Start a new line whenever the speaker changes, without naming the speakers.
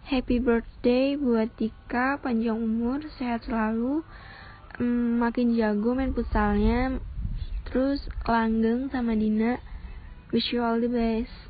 Happy birthday buat Tika, panjang umur, sehat selalu, makin jago main futsalnya, terus langgeng sama Dina. Wish you all the best.